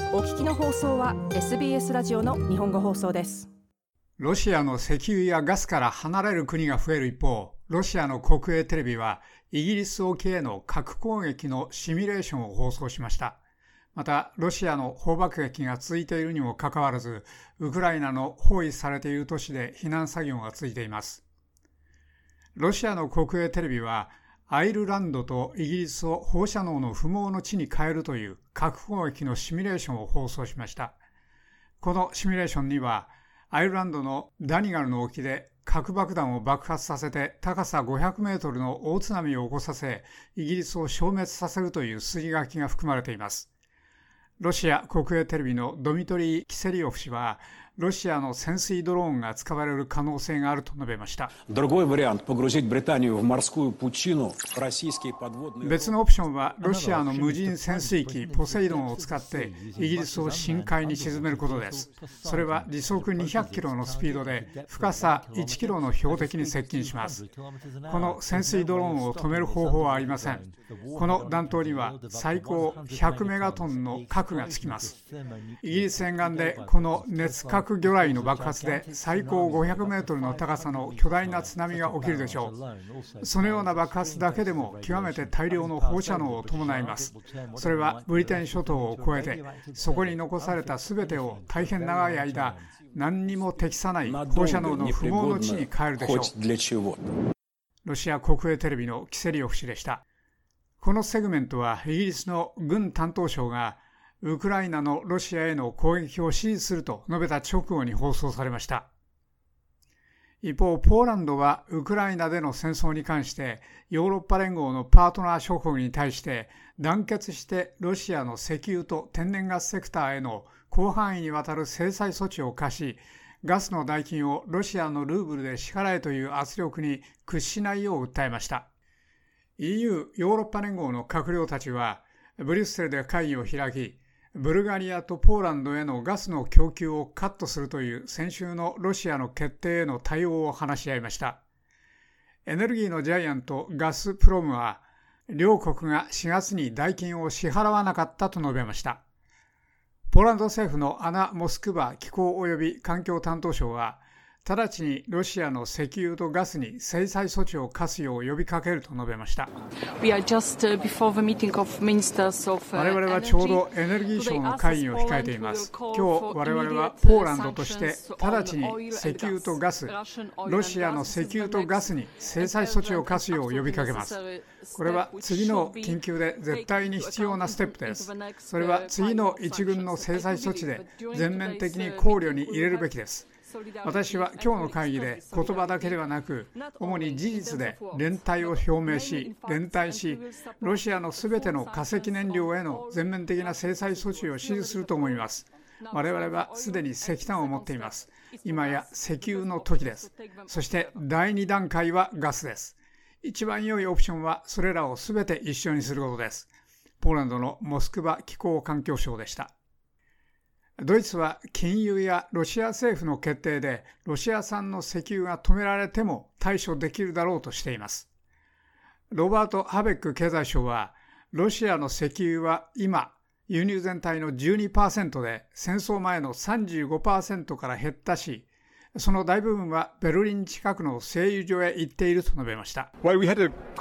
お聞きの放送は SBS ラジオの日本語放送です。 ロシアの石油やガスから離れる国が増える一方、ロシアの国営テレビはイギリス沖への核攻撃のシミュレーションを放送しました。また、ロシアの砲爆撃が続いているにもかかわらず、ウクライナの包囲されている都市で避難作業が続いています。ロシアの国営テレビは、アイルランドとイギリスを放射能の不毛の地に変えるという核攻撃のシミュレーションを放送しました。このシミュレーションには、アイルランドのダニガルの沖で核爆弾を爆発させて高さ500メートルの大津波を起こさせ、イギリスを消滅させるという筋書きが含まれています。ロシア国営テレビのドミトリー・キセリオフ氏は、ロシアの潜水ドローンが使われる可能性があると述べました。別のオプションは、ロシアの無人潜水機ポセイドンを使ってイギリスを深海に沈めることです。それは時速200キロのスピードで深さ1キロの標的に接近します。この潜水ドローンを止める方法はありません。この弾頭には最高100メガトンの核がつきます。イギリス沿岸でこの熱核魚雷の爆発で最高500メートルの高さの巨大な津波が起きるでしょう。そのような爆発だけでも極めて大量の放射能を伴います。それはブリテン諸島を越えて、そこに残されたすべてを大変長い間、何にも適さない放射能の不毛の地に変えるでしょう。ロシア国営テレビのキセリオフ氏でした。このセグメントはイギリスの軍担当相がウクライナのロシアへの攻撃を支持すると述べた直後に放送されました。一方、ポーランドはウクライナでの戦争に関してヨーロッパ連合のパートナー諸国に対して団結してロシアの石油と天然ガスセクターへの広範囲にわたる制裁措置を課し、ガスの代金をロシアのルーブルで支払えという圧力に屈しないよう訴えました。EU ヨーロッパ連合の閣僚たちはブリュッセルで会議を開き、ブルガリアとポーランドへのガスの供給をカットするという先週のロシアの決定への対応を話し合いました。エネルギーのジャイアントガスプロムは、両国が4月に代金を支払わなかったと述べました。ポーランド政府のアナ・モスクバ気候及び環境担当相は、直ちにロシアの石油とガスに制裁措置を課すよう呼びかけると述べました。我々はちょうどエネルギー省の会議を控えています。今日我々はポーランドとして直ちに石油とガス、ロシアの石油とガスに制裁措置を課すよう呼びかけます。これは次の緊急で絶対に必要なステップです。それは次の一軍の制裁措置で全面的に考慮に入れるべきです。私は今日の会議で言葉だけではなく、主に事実で連帯を表明し、連帯し、ロシアのすべての化石燃料への全面的な制裁措置を支持すると思います。我々はすでに石炭を持っています。今や石油の時です。そして第2段階はガスです。一番良いオプションはそれらをすべて一緒にすることです。ポーランドのモスクワ気候環境省でした。ドイツは禁輸やロシア政府の決定でロシア産の石油が止められても対処できるだろうとしています。ロバート・ハベック経済相は、ロシアの石油は今、輸入全体の 12% で戦争前の 35% から減ったし、その大部分はベルリン近くの製油所へ行っていると述べました。この戦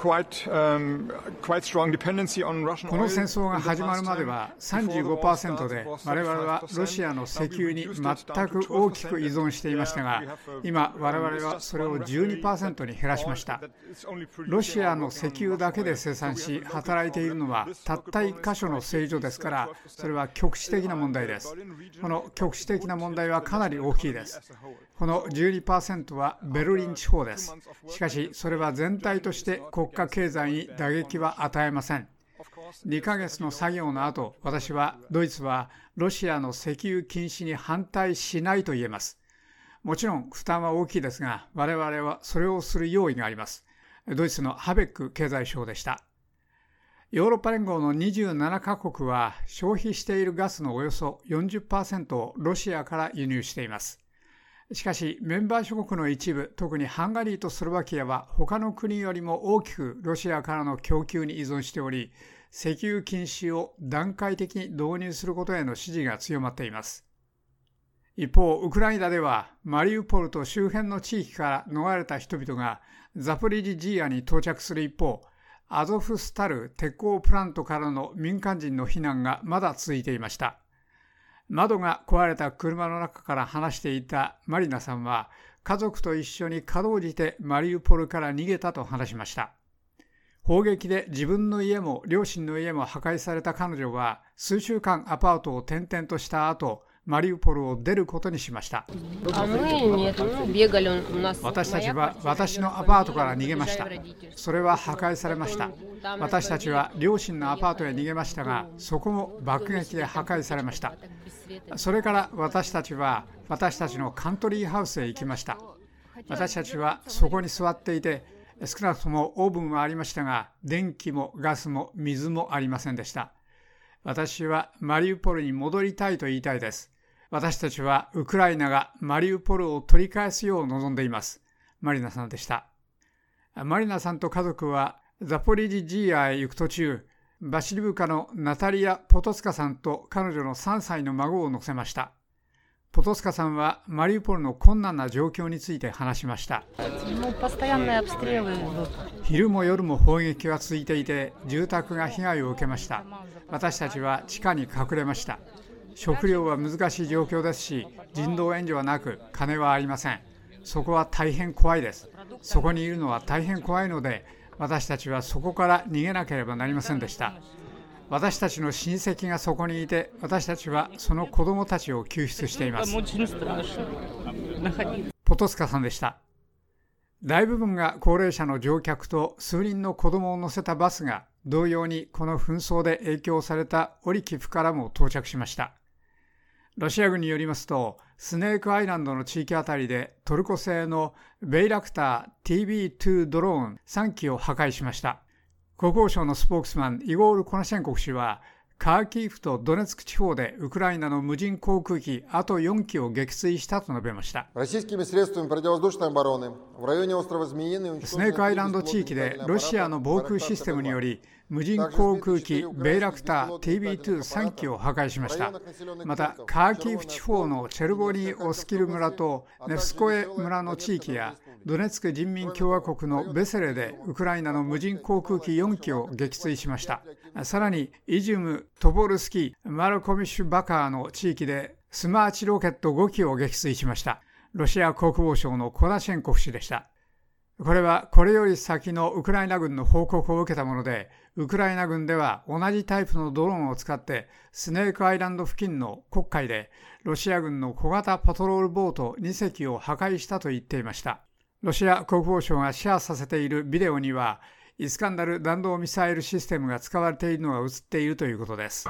争が始まるまでは 35% で我々はロシアの石油に全く大きく依存していましたが、今我々はそれを 12% に減らしました。ロシアの石油だけで生産し働いているのはたった1箇所の製油所ですから、それは局地的な問題です。この局地的な問題はかなり大きいです。この 12% はベルリン地方です。しかし、それは全体として国家経済に打撃は与えません。2ヶ月の作業の後、ドイツはロシアの石油禁止に反対しないと言えます。もちろん負担は大きいですが、我々はそれをする用意があります。ドイツのハベック経済相でした。ヨーロッパ連合の27カ国は消費しているガスのおよそ 40% をロシアから輸入しています。しかし、メンバー諸国の一部、特にハンガリーとスロバキアは他の国よりも大きくロシアからの供給に依存しており、 石油禁止を段階的に導入することへの支持が強まっています。一方、ウクライナではマリウポルと周辺の地域から逃れた人々がザポリジジアに到着する一方、アゾフスタル鉄鋼プラントからの民間人の避難がまだ続いていました。窓が壊れた車の中から話していたマリナさんは、家族と一緒にかろうじてマリウポルから逃げたと話しました。砲撃で自分の家も両親の家も破壊された彼女は、数週間アパートを転々とした後、マリウポルを出ることにしました。私たちは私のアパートから逃げました。それは破壊されました。私たちは両親のアパートへ逃げましたが、そこも爆撃で破壊されました。それから私たちは私たちのカントリーハウスへ行きました。私たちはそこに座っていて、少なくともオーブンはありましたが、電気もガスも水もありませんでした。私はマリウポルに戻りたいと言いたいです。私たちはウクライナがマリウポルを取り返すよう望んでいます。マリナさんでした。マリナさんと家族はザポリジジーアへ行く途中、バシリブカのナタリア・ポトスカさんと彼女の3歳の孫を乗せました。ポトスカさんはマリウポルの困難な状況について話しました。昼も夜も砲撃が続いていて、住宅が被害を受けました。私たちは地下に隠れました。食料は難しい状況ですし、人道援助はなく、金はありません。そこは大変怖いです。そこにいるのは大変怖いので、私たちはそこから逃げなければなりませんでした。私たちの親戚がそこにいて、私たちはその子供たちを救出しています。ポトスカさんでした。大部分が高齢者の乗客と数人の子供を乗せたバスが、同様にこの紛争で影響されたオリキフからも到着しました。ロシア軍によりますと、スネークアイランドの地域あたりでトルコ製のベイラクター TB2 ドローン3機を破壊しました。国防省のスポークスマンイゴール・コナシェンコフ氏は、カーキーフとドネツク地方でウクライナの無人航空機あと4機を撃墜したと述べました。スネークアイランド地域でロシアの防空システムにより無人航空機ベイラクター TB2-3 機を破壊しました。またカーキーフ地方のチェルボニー・オスキル村とネフスコエ村の地域やドネツク人民共和国のベセレでウクライナの無人航空機4機を撃墜しました。さらにイジュム、トボルスキー、マルコミッシュバカーの地域でスマーチロケット5機を撃墜しました。ロシア国防省のコナシェンコフ氏でした。これはこれより先のウクライナ軍の報告を受けたもので、ウクライナ軍では同じタイプのドローンを使ってスネークアイランド付近の黒海でロシア軍の小型パトロールボート2隻を破壊したと言っていました。ロシア国防省がシェアさせているビデオには、イスカンダル弾道ミサイルシステムが使われているのが映っているということです。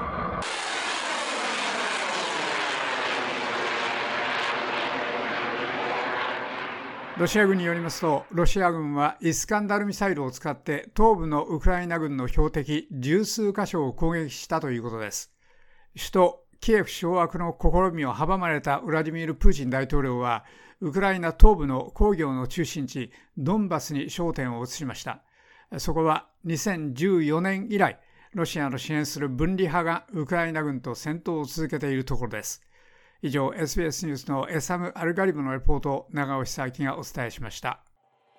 ロシア軍によりますと、ロシア軍はイスカンダルミサイルを使って東部のウクライナ軍の標的十数カ所を攻撃したということです。首都キエフ掌握の試みを阻まれたウラジミール・プーチン大統領は、ウクライナ東部の工業の中心地ドンバスに焦点を移しました。そこは2014年以来、ロシアの支援する分離派がウクライナ軍と戦闘を続けているところです。以上、SBS ニュースのエサム・アルガリブのレポートを長尾久明がお伝えしました。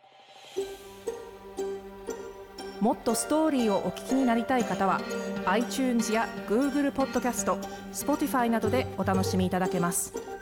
もっとストーリーをお聞きになりたい方は iTunes や Google ポッドキャスト、Spotify などでお楽しみいただけます。